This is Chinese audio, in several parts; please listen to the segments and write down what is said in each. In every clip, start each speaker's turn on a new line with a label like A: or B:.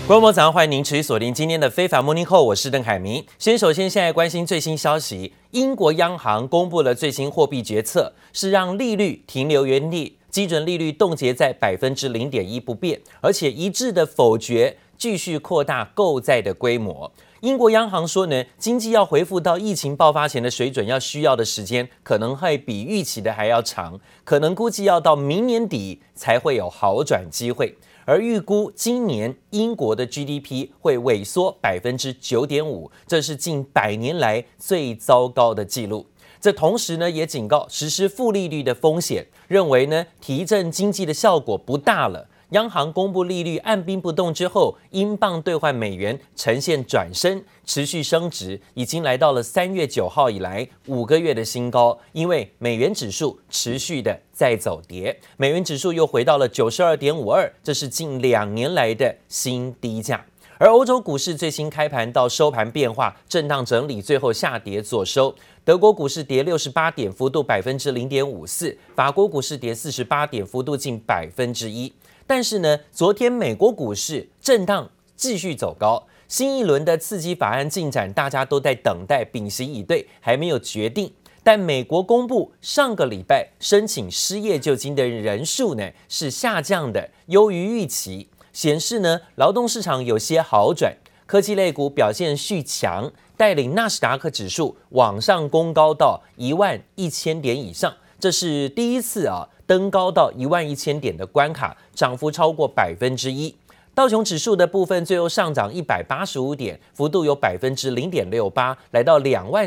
A: 各位早上，歡迎您持續鎖定今天的非凡 Morning Call， 我是鄧凱明。首先現在關心最新消息，英國央行公布了最新貨幣決策，是讓利率停留原地，基準利率凍結在0.1%不變，而且一致的否決繼續擴大購債的規模。英國央行說呢，經濟要恢復到疫情爆發前的水準，需要的時間可能會比預期的還要長，可能估計要到明年底才會有好轉機會。而預估今年英國的 GDP 會萎縮9.5%，這是近100年來最糟糕的記錄。這同時呢，也警告實施負利率的風險，認為呢提振經濟的效果不大了。央行公布利率按兵不動之後，英鎊兌換美元呈現轉升，持續升值，已經來到了3月9號以來5個月的新高。因為美元指數持續的在走跌，美元指數又回到了92.52，这是近2年來的新低價。而歐洲股市最新開盤到收盤變化震盪整理，最後下跌作收。德國股市跌68點，幅度0.54%；法國股市跌48點，幅度近1%。但是呢，昨天美國股市震盪繼續走高，新一輪的刺激法案進展，大家都在等待，屏息以對，還沒有決定。但美國公布上個禮拜申請失業救濟的人數呢是下降的，優於預期，顯示呢勞動市場有些好轉。科技類股表現續強，帶領納斯達克指數往上攻高到11000點以上，這是第一次登高到11000點的關卡，漲幅超過1%。道瓊指數的部分最後上漲185點，幅度有0.68%，來到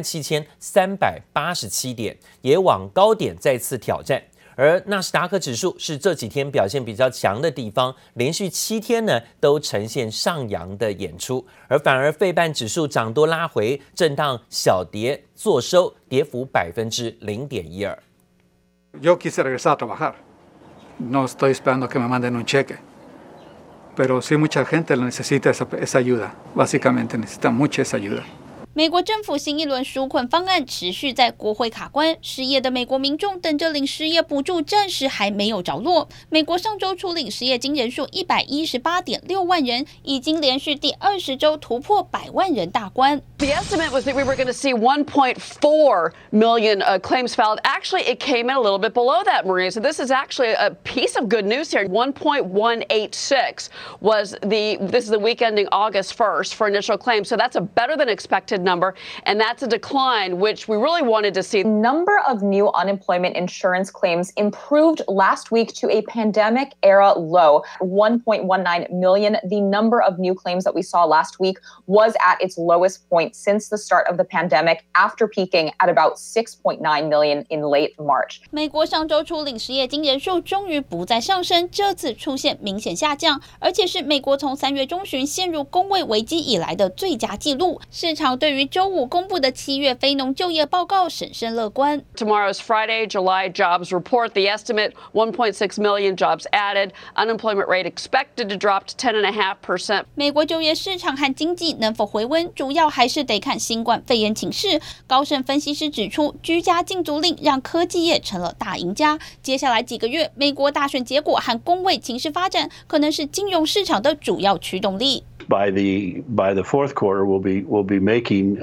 A: 27387點，也往高點再次挑戰。而納斯達克指數是這幾天表現比較強的地方，連續7天呢都呈現上揚的演出，而反而費半指數漲多拉回，震盪小跌作收，跌幅0.12%。
B: Yo quise regresar a trabajar. No estoy esperando que me manden un cheque. Pero sí mucha gente necesita esa ayuda. Básicamente necesita mucha esa ayuda.
C: 美國政府新一輪紓困方案持續在國會卡關，失業的美國民眾等着領失業補助，暫時還沒有着落。美國上周初領失業金人數118.6萬人，已經連續第20周突破100萬人大關。
D: The estimate was that we were going to see 1.4 million claims filed. Actually, it came in a little bit below that, Maria. So this is actually a piece of good news here. 1.186 was this is the week ending August 1st for initial claims. So that's a better than expected number, and that's a decline which we really wanted to see.
E: Number of new unemployment insurance claims improved last week to a pandemic era low, 1.19 million. The number of new claims that we saw last week was at its lowest point since the start of the pandemic, after peaking at about 6.9 million in late March.
C: 美國上周初領失業金人數終於不再上升，這次出現明顯下降，而且是美國從3月中旬陷入工位危機以來的最佳紀錄。市場對於周五公布的7月非農就業報告審慎樂觀。
D: Tomorrow's Friday, July jobs report. The estimate 1.6 million jobs added. Unemployment rate expected to drop to 10.5%.
C: 美國就業市場和經濟能否回溫，主要還是得看新冠肺炎情勢。高盛分析師指出，居家禁足令讓科技業成了大贏家。接下來幾個月，美國大選結果和工位情勢發展，可能是金融市場的主要驅動力。
F: By the fourth quarter, we'll be making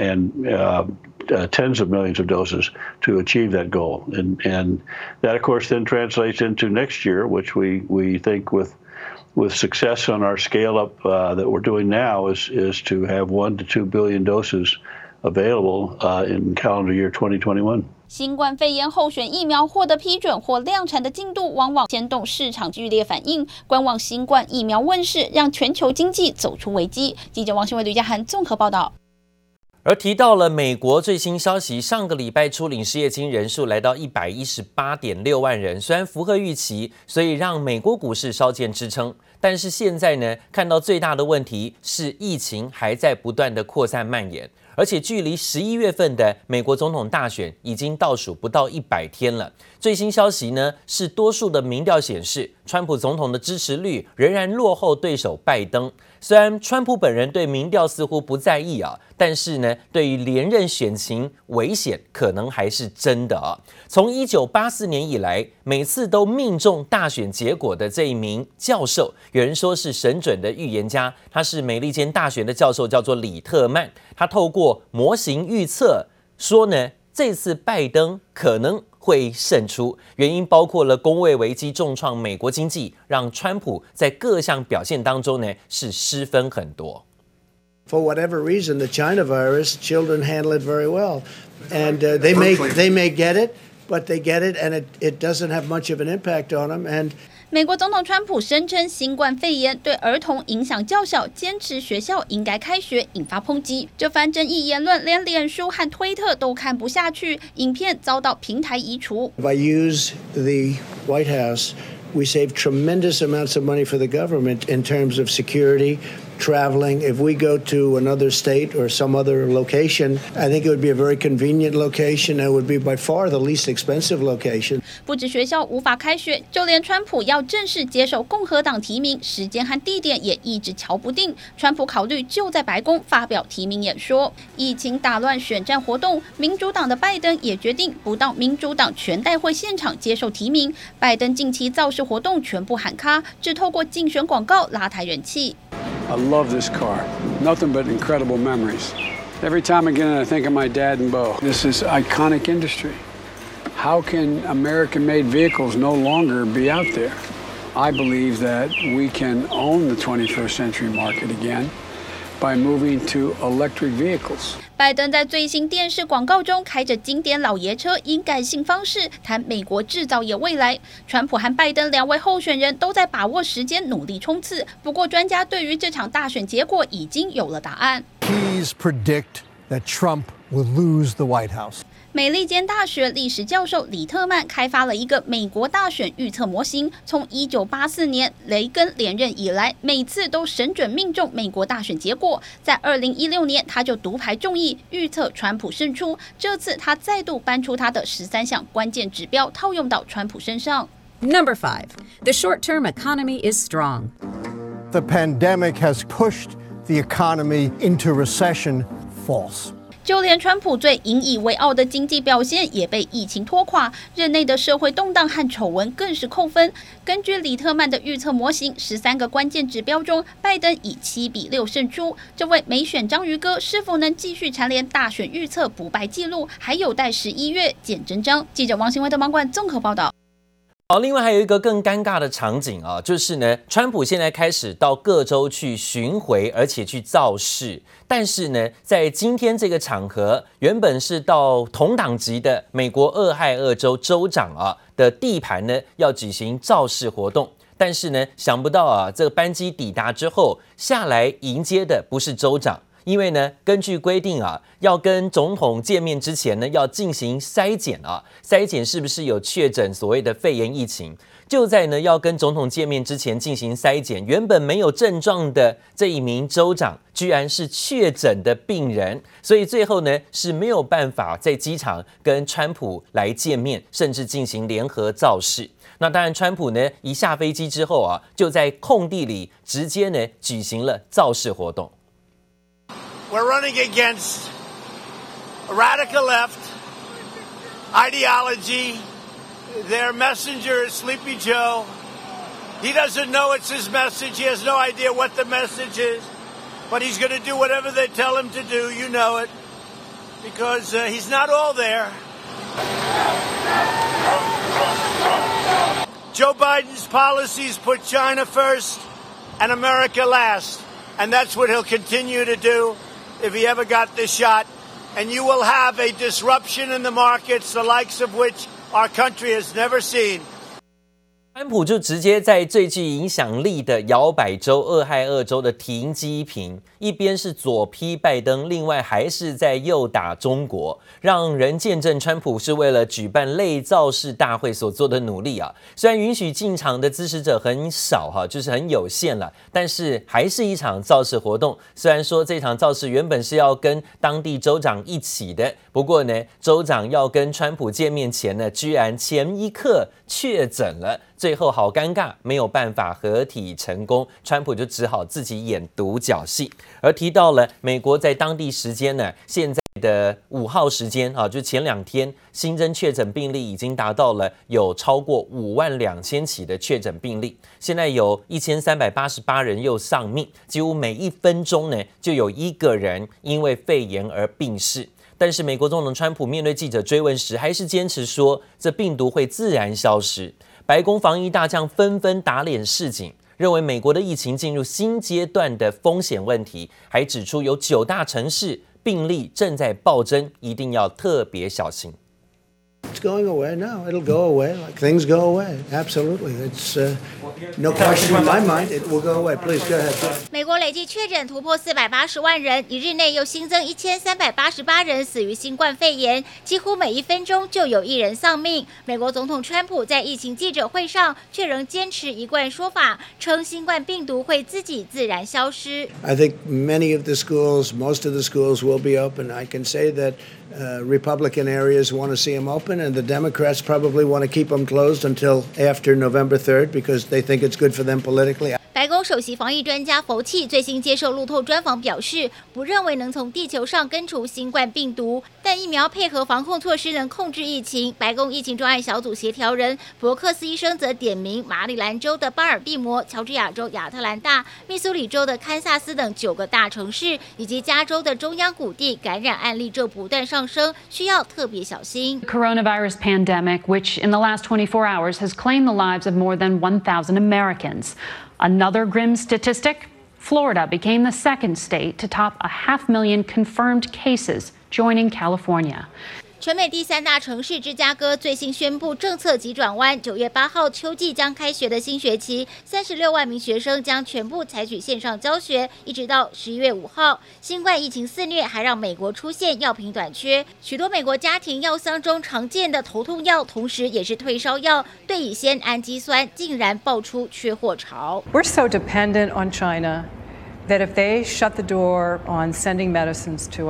F: tens of millions of doses to achieve that goal, and that of course then translates into next year, which we think with success on our scale up that we're doing now is to have 1 to 2 billion doses available in calendar year 2021.
C: 新冠肺炎候選疫苗獲得批准或量產的進度，往往牽動市場劇烈反應。觀望新冠疫苗問世，讓全球經濟走出危機。記者王新偉、呂家涵綜合報道。
A: 而提到了美國最新消息，上個禮拜初領失業金人數來到118.6萬人，雖然符合預期，所以讓美國股市稍見支撐。但是現在呢，看到最大的問題是疫情還在不斷的擴散蔓延，而且距離11月份的美國總統大選已經倒數不到100天了。最新消息呢，是多數的民調顯示， 川普總統的支持率仍然落後對手拜登。雖然川普本人對民調似乎不在意啊，但是呢，對於連任選情危險可能還是真的啊。從1984年以來，每次都命中大選結果的這一名教授，有人說是神準的預言家，他是美利堅大學的教授，叫做李特曼。他透過模型預測說呢，這次拜登可能會勝出，原因包括了公衛危機重創美國經濟，讓川普在各項表現當中呢是失分很多。
G: For whatever reason, the China virus, children handle it very well, and they may get it, but they get it, and it doesn't have much of an impact on them. And
C: 美國總統川普聲稱新冠肺炎對兒童影響較小，堅持學校應該開學，引發抨擊。這番爭議言論連臉書和推特都看不下去，影片遭到平台移除。
G: If I use the White House, we save tremendous amounts of money for the government in terms of security, traveling. If we go to another state or some other location, I think it would be a very convenient location. It would be by far the least expensive location.
C: 不止學校無法開學，就連川普要正式接受共和黨提名，時間和地點也一直瞧不定。川普考慮就在白宮發表提名演說。疫情打亂選戰活動，民主黨的拜登也決定不到民主黨全代會現場接受提名。拜登近期造勢活動全部喊卡，只透過競選廣告拉抬人氣。
H: I love this car. Nothing but incredible memories. Every time I get in, I think of my dad and Bo. This is iconic industry. How can American-made vehicles no longer be out there? I believe that we can own the 21st century market again by moving to electric vehicles.
C: 拜登在最新電視廣告中開着經典老爺車，以感性方式談美國製造業未來。川普和拜登兩位候選人都在把握時間，努力衝刺。不過，專家對於這場大選結果已經有了答案。
I: Please predict that Trump will lose the White House.
C: 美利堅大學歷史教授李特曼開發了一個美國大選預測模型，從1984年雷根連任以來，每次都神準命中美國大選結果。在2016年，他就獨排眾議，預測川普勝出。這次他再度搬出他的13項關鍵指標，套用到川普身上。
J: Number 5, the short-term economy is strong.
I: The pandemic has pushed the economy into recession. False.
C: 就連川普最引以為傲的經濟表現也被疫情拖垮，任內的社會動盪和醜聞更是扣分。根據李特曼的預測模型，13個關鍵指標中，拜登以7-6勝出。這位美選章魚哥是否能繼續蟬聯大選預測不敗紀錄，還有待11月見真章。記者王新威的網館綜合報道。
A: 好，另外還有一個更尷尬的場景啊，就是呢，川普現在開始到各州去巡迴，而且去造勢。但是呢，在今天這個場合，原本是到同黨籍的美國俄亥俄州州長啊的地盤呢，要舉行造勢活動。但是呢，想不到啊，這個班機抵達之後，下來迎接的不是州長。因為呢，根據規定啊，要跟總統見面之前呢，要進行篩檢啊，篩檢是不是有確診所謂的肺炎疫情。就在呢要跟總統見面之前進行篩檢，原本沒有症狀的這一名州長，居然是確診的病人，所以最後呢是沒有辦法在機場跟川普來見面，甚至進行聯合造勢。那當然，川普呢一下飛機之後啊，就在空地裡直接呢舉行了造勢活動。
K: We're running against a radical left ideology. Their messenger is Sleepy Joe. He doesn't know it's his message. He has no idea what the message is. But he's going to do whatever they tell him to do. You know it. Because he's not all there. Joe Biden's policies put China first and America last. And that's what he'll continue to do if he ever got this shot. And you will have a disruption in the markets, the likes of which our country has never seen.
A: 川普就直接在最具影響力的搖擺州俄亥俄州的停機坪，一邊是左批拜登，另外還是在右打中國，讓人見證川普是為了舉辦類造勢大會所做的努力啊。雖然允許進場的支持者很少哈，就是很有限了，但是還是一場造勢活動。雖然說這場造勢原本是要跟當地州長一起的，不過呢，州長要跟川普見面前呢，居然前一刻確診了。 最後好尷尬，沒有辦法合體成功，川普就只好自己演獨角戲。而提到了美國在當地時間呢，現在的5號時間啊，就前2天新增確診病例已經達到了有超過52000起的確診病例，現在有1388人又喪命，幾乎每1分鐘呢就有1個人因為肺炎而病逝。但是美國總統川普面對記者追問時，還是堅持說這病毒會自然消失。白宮防疫大將紛紛打臉示警，認為美國的疫情進入新階段的風險問題，還指出有9大城市病例正在暴增，一定要特別小心。
G: It's going away. No, it'll go away. Like things go away. Absolutely. It's no question in my mind. It will go away. Please go ahead.
L: 美國累計確診突破480萬人，一日內又新增1388人死於新冠肺炎，幾乎每1分鐘就有1人喪命。美國總統川普在疫情記者會上卻仍堅持一貫說法，稱新冠病毒會自己自然消失。
G: I think many of the schools, most of the schools will be open. I can say that Republican areas want to see them open, and the Democrats probably want to keep them closed until after November 3rd because they think it's good for them politically.
L: 白宮首席防疫專家佛契最新接受路透專訪表示，不認為能從地球上根除新冠病毒，但疫苗配合防控措施能控制疫情。白宮疫情專案小組協調人伯克斯醫生則點名馬里蘭州的巴爾的摩、喬治亞州亞特蘭大、密蘇里州的堪薩斯等9個大城市，以及加州的中央谷地感染案例正不斷上升，需要特別小心。
M: Coronavirus pandemic, which in the last 24 hours has claimed the lives of more than 1,000 Americans. Another grim statistic, Florida became the second state to top 500,000 confirmed cases, joining California.
L: 全美第3大城市芝加哥最新宣布政策急轉彎，9月8號秋季將開學的新學期，36萬名學生將全部採取線上教學，一直到11月5號。新冠疫情肆虐，還讓美國出現藥品短缺，許多美國家庭藥箱中常見的頭痛藥，同時也是退燒藥對乙酰氨基酸，竟然爆出缺貨潮。
N: We're so dependent on China that if they shut the door on sending medicines to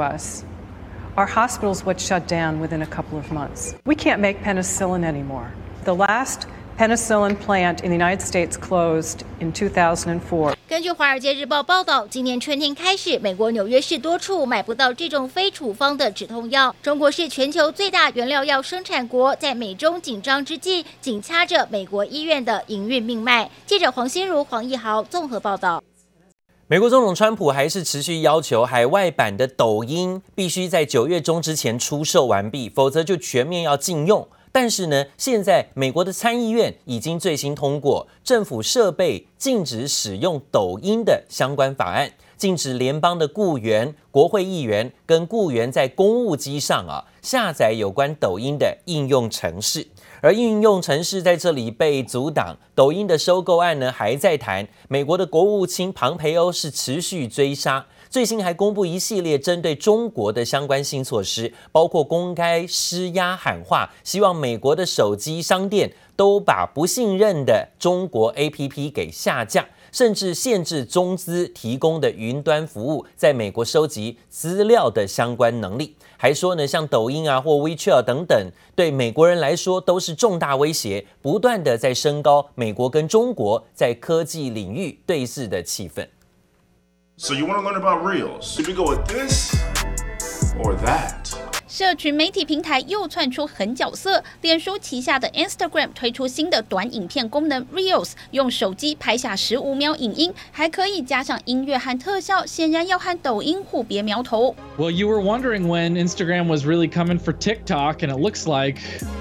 N: us,Our hospitals would shut down within a couple of months. We can't make penicillin anymore. The last penicillin plant in the United States closed in 2004.
L: 根據《華爾街日報》報道，今年春天開始，美國紐約市多處買不到這種非處方的止痛藥。中國是全球最大原料藥生產國，在美中緊張之際，緊掐着美國醫院的營運命脈。記者黃心如、黃義豪綜合報道。
A: 美國總統川普還是持續要求海外版的抖音必須在9月中之前出售完畢，否則就全面要禁用。但是呢，現在美國的參議院已經最新通過政府設備禁止使用抖音的相關法案，禁止聯邦的僱員、國會議員跟僱員在公務機上下載有關抖音的應用程式。而應用程式在這裡被阻擋，抖音的收購案呢還在談。美國的國務卿龐培歐是持續追殺，最新還公布一系列針對中國的相關新措施，包括公開施壓喊話，希望美國的手機商店都把不信任的中國 APP 給下架，甚至限制中資提供的雲端服務在美國收集資料的相關能力。還說呢，像抖音或 WeChat 等等，對美國人來說都是重大威脅，不斷的在升高美國跟中國在科技領域對峙的氣氛。
O: So you want to learn about Reels? Should we go with this or that?
C: 社群媒體平台又竄出狠角色，臉書旗下的 Instagram 推出新的短影片功能 Reels， 用手機拍下15秒影音，還可以加上音樂和特效，顯然要和抖音互別苗頭。
P: Well, you were wondering when Instagram was really coming for TikTok, and it looks like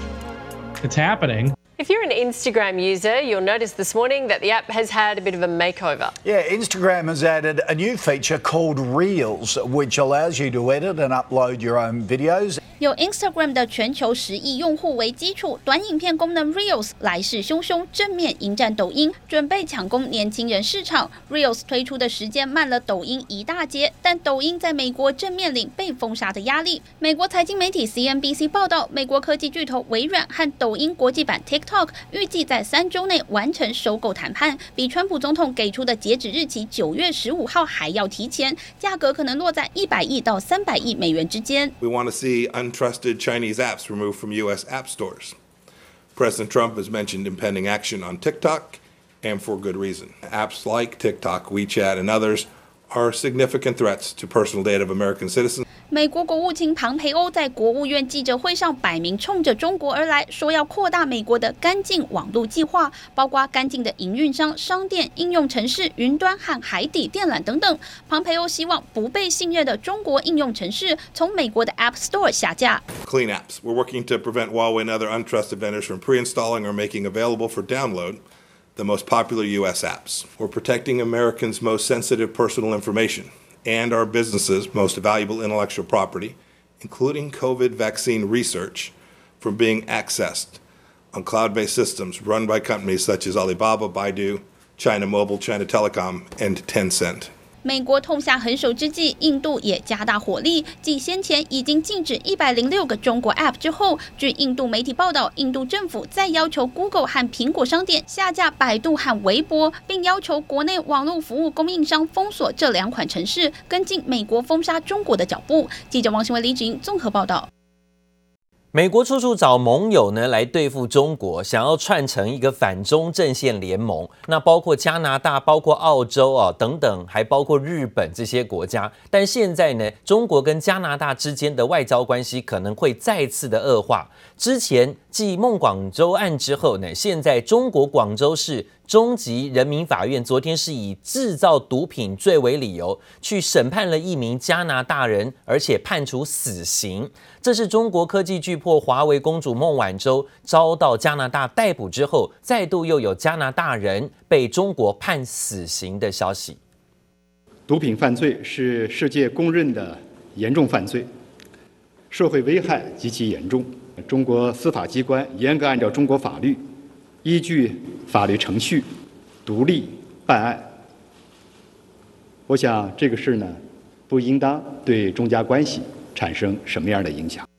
P: it's happening.
Q: If you're an Instagram user, you'll notice this morning that the app has had a bit of a makeover.
R: Yeah, Instagram has added a new feature called Reels, which allows you to edit and upload your own videos.
C: 有 Instagram 的全球10億用戶為基礎，短影片功能 Reels 來勢洶洶，正面迎戰抖音，準備搶攻年輕人市場。Reels 推出的時間慢了抖音一大截，但抖音在美國正面臨被封殺的壓力。美國財經媒體 CNBC 報道，美國科技巨頭微軟和抖音國際版 TikTok 預計在3週內完成收購談判，比川普總統給出的截止日期9月15號還要提前，價格可能落在100億到300億美元之間。
O: We want to see untrusted Chinese apps removed from U.S. app stores.
S: President Trump has mentioned impending action on TikTok, and for good reason. Apps like TikTok, WeChat, and others are significant threats to personal data of American citizens.
C: 美國國務卿龐培歐在國務院記者會上擺明衝着中國而來，說要擴大美國的乾淨網絡計劃，包括乾淨的營運商、商店、應用程式、雲端和海底電纜等等。龐培歐希望不被信任的中國應用程式從美國的 App Store 下架。
S: Clean apps. We're working to prevent Huawei and other untrusted vendors from pre-installing or making available for download the most popular U.S. apps. We're protecting Americans' most sensitive personal information and our businesses' most valuable intellectual property, including COVID vaccine research, from being accessed on cloud-based systems run by companies such as Alibaba, Baidu, China Mobile, China Telecom, and Tencent.
C: 美國痛下狠手之際，印度也加大火力。繼先前已經禁止106個中國 App 之後，據印度媒體報道，印度政府再要求 Google 和蘋果商店下架百度和微博，並要求國內網絡服務供應商封鎖這兩款程式，跟進美國封殺中國的腳步。記者王新偉、李芷瑩綜合報道。
A: 美國處處找盟友呢來對付中國，想要串成一個反中陣線聯盟。那包括加拿大、包括澳洲等等，還包括日本這些國家。但現在呢，中國跟加拿大之間的外交關係可能會再次的惡化。之前繼孟廣州案之後呢，現在中國廣州市中級人民法院昨天是以製造毒品罪為理由，去審判了一名加拿大人，而且判處死刑。這是中國科技巨擘華為公主孟晚舟遭到加拿大逮捕之後，再度又有加拿大人被中國判死刑的消息。
T: 毒品犯罪是世界公認的嚴重犯罪，社會危害極其嚴重。中國司法機關嚴格按照中國法律，依據法律程序獨立辦案。我想這個事呢，不應當對中加關係產生什麼樣的影響？